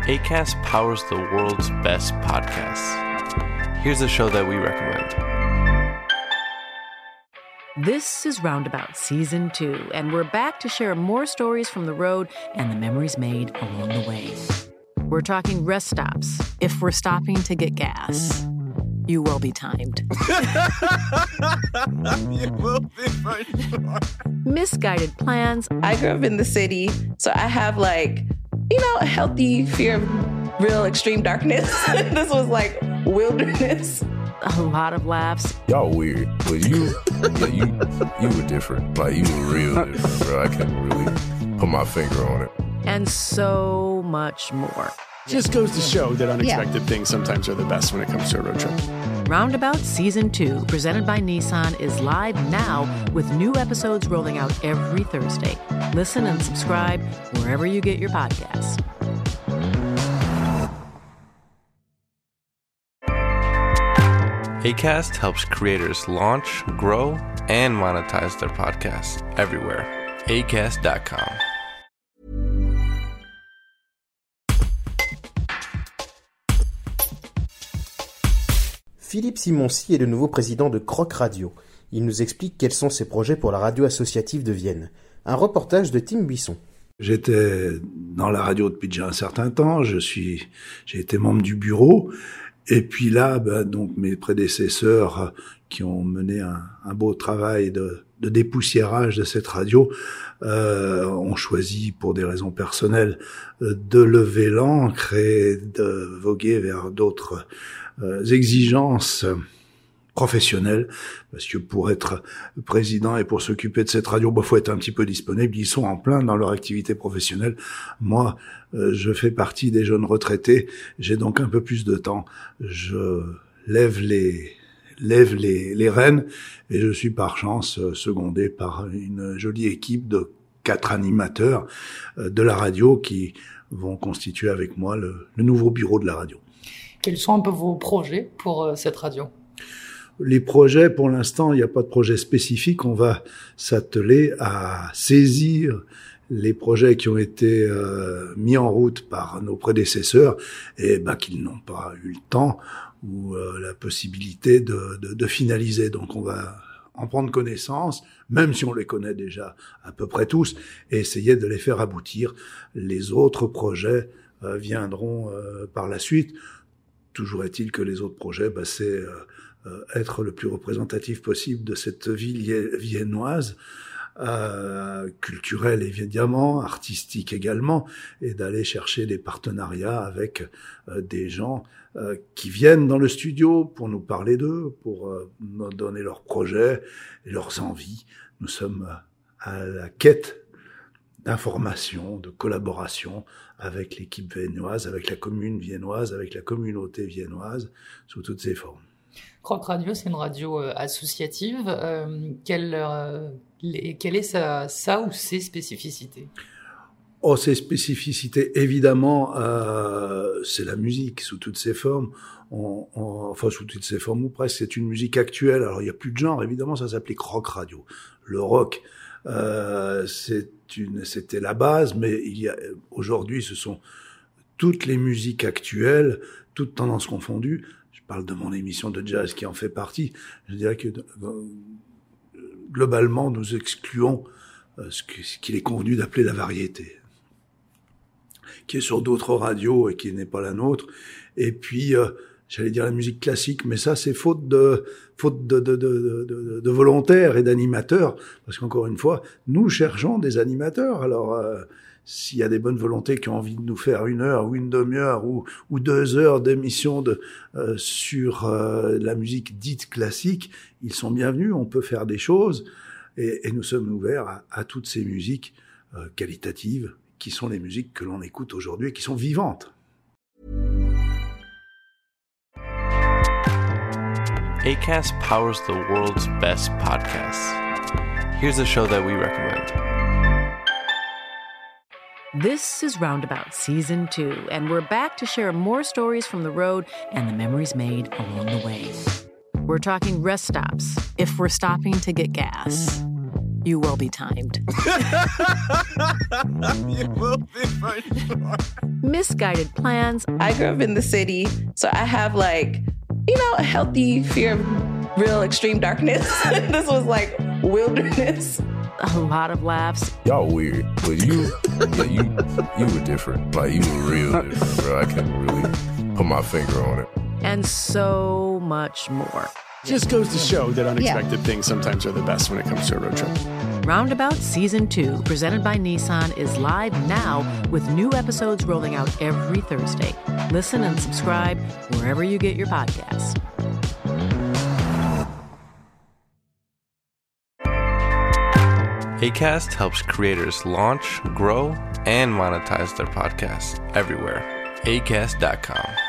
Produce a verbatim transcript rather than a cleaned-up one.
Acast powers the world's best podcasts. Here's a show that we recommend. This is Roundabout Season two, and we're back to share more stories from the road and the memories made along the way. We're talking rest stops, if we're stopping to get gas. You will be timed. You will be for sure. Misguided plans. I grew up in the city, so I have like, you know, a healthy fear of real extreme darkness. This was like wilderness. A lot of laughs. Y'all weird, but you, yeah, you, you were different. Like, you were real different, bro. I can't really put my finger on it. And so much more. Just goes to show that unexpected yeah. things sometimes are the best when it comes to a road trip. Roundabout Season two, presented by Nissan, is live now with new episodes rolling out every Thursday. Listen and subscribe wherever you get your podcasts. Acast helps creators launch, grow, and monetize their podcasts everywhere. acast dot com. Philippe Simonsi est le nouveau président de Croc Radio. Il nous explique quels sont ses projets pour la radio associative de Vienne. Un reportage de Tim Buisson. J'étais dans la radio depuis déjà un certain temps. Je suis, j'ai été membre du bureau. Et puis là, ben, donc mes prédécesseurs qui ont mené un, un beau travail de, de dépoussiérage de cette radio euh, ont choisi, pour des raisons personnelles, de lever l'ancre et de voguer vers d'autres euh, exigences professionnelles, parce que pour être président et pour s'occuper de cette radio, bah, faut être un petit peu disponible. Ils sont en plein dans leur activité professionnelle. Moi, euh, je fais partie des jeunes retraités. J'ai donc un peu plus de temps. Je lève les lève les, les rênes et je suis par chance secondé par une jolie équipe de quatre animateurs euh, de la radio qui vont constituer avec moi le, le nouveau bureau de la radio. Quels sont un peu vos projets pour euh, cette radio ? Les projets, pour l'instant, il n'y a pas de projet spécifique. On va s'atteler à saisir les projets qui ont été euh, mis en route par nos prédécesseurs et ben, qu'ils n'ont pas eu le temps ou euh, la possibilité de, de, de finaliser. Donc on va en prendre connaissance, même si on les connaît déjà à peu près tous, et essayer de les faire aboutir. Les autres projets euh, viendront euh, par la suite. Toujours est-il que les autres projets, ben, c'est euh, euh, être le plus représentatif possible de cette ville viennoise, euh, culturelle évidemment, artistique également, et d'aller chercher des partenariats avec euh, des gens euh, qui viennent dans le studio pour nous parler d'eux, pour euh, nous donner leurs projets et leurs envies. Nous sommes à la quête d'information, de collaboration avec l'équipe viennoise, avec la commune viennoise, avec la communauté viennoise, sous toutes ses formes. Croc Radio, c'est une radio euh, associative. Euh, quelle, euh, les, quelle est sa, sa ou ses spécificités ? Oh, ses spécificités, évidemment, euh, c'est la musique sous toutes ses formes. On, on, enfin, sous toutes ses formes ou presque, c'est une musique actuelle. Alors, il n'y a plus de genre, évidemment, ça s'appelait Croc Radio. Le rock, euh, c'est une, c'était la base, mais il y a, aujourd'hui, ce sont toutes les musiques actuelles, toutes tendances confondues. Je parle de mon émission de jazz qui en fait partie. Je dirais que euh, globalement, nous excluons euh, ce, que, ce qu'il est convenu d'appeler la variété, qui est sur d'autres radios et qui n'est pas la nôtre. Et puis, euh, j'allais dire la musique classique, mais ça, c'est faute de faute de, de, de, de, de volontaires et d'animateurs, parce qu'encore une fois, nous cherchons des animateurs. Alors, euh, s'il y a des bonnes volontés qui ont envie de nous faire une heure ou une demi-heure ou, ou deux heures d'émission de, euh, sur euh, la musique dite classique, ils sont bienvenus, on peut faire des choses, et, et nous sommes ouverts à, à toutes ces musiques euh, qualitatives, qui sont les musiques que l'on écoute aujourd'hui et qui sont vivantes. Acast powers the world's best podcasts. Here's a show that we recommend. This is Roundabout Season two, and we're back to share more stories from the road and the memories made along the way. We're talking rest stops, if we're stopping to get gas. You will be timed. You will be for sure. Misguided plans. I grew up in the city, so I have like, you know, a healthy fear of real extreme darkness. This was like wilderness. A lot of laughs. Y'all weird, but you, yeah, you, you were different. Like you were real different, bro. I can't really put my finger on it. And so much more. Just goes to show that unexpected yeah. things sometimes are the best when it comes to a road trip. Roundabout Season two, presented by Nissan, is live now with new episodes rolling out every Thursday. Listen and subscribe wherever you get your podcasts. Acast helps creators launch, grow, and monetize their podcasts everywhere. acast dot com.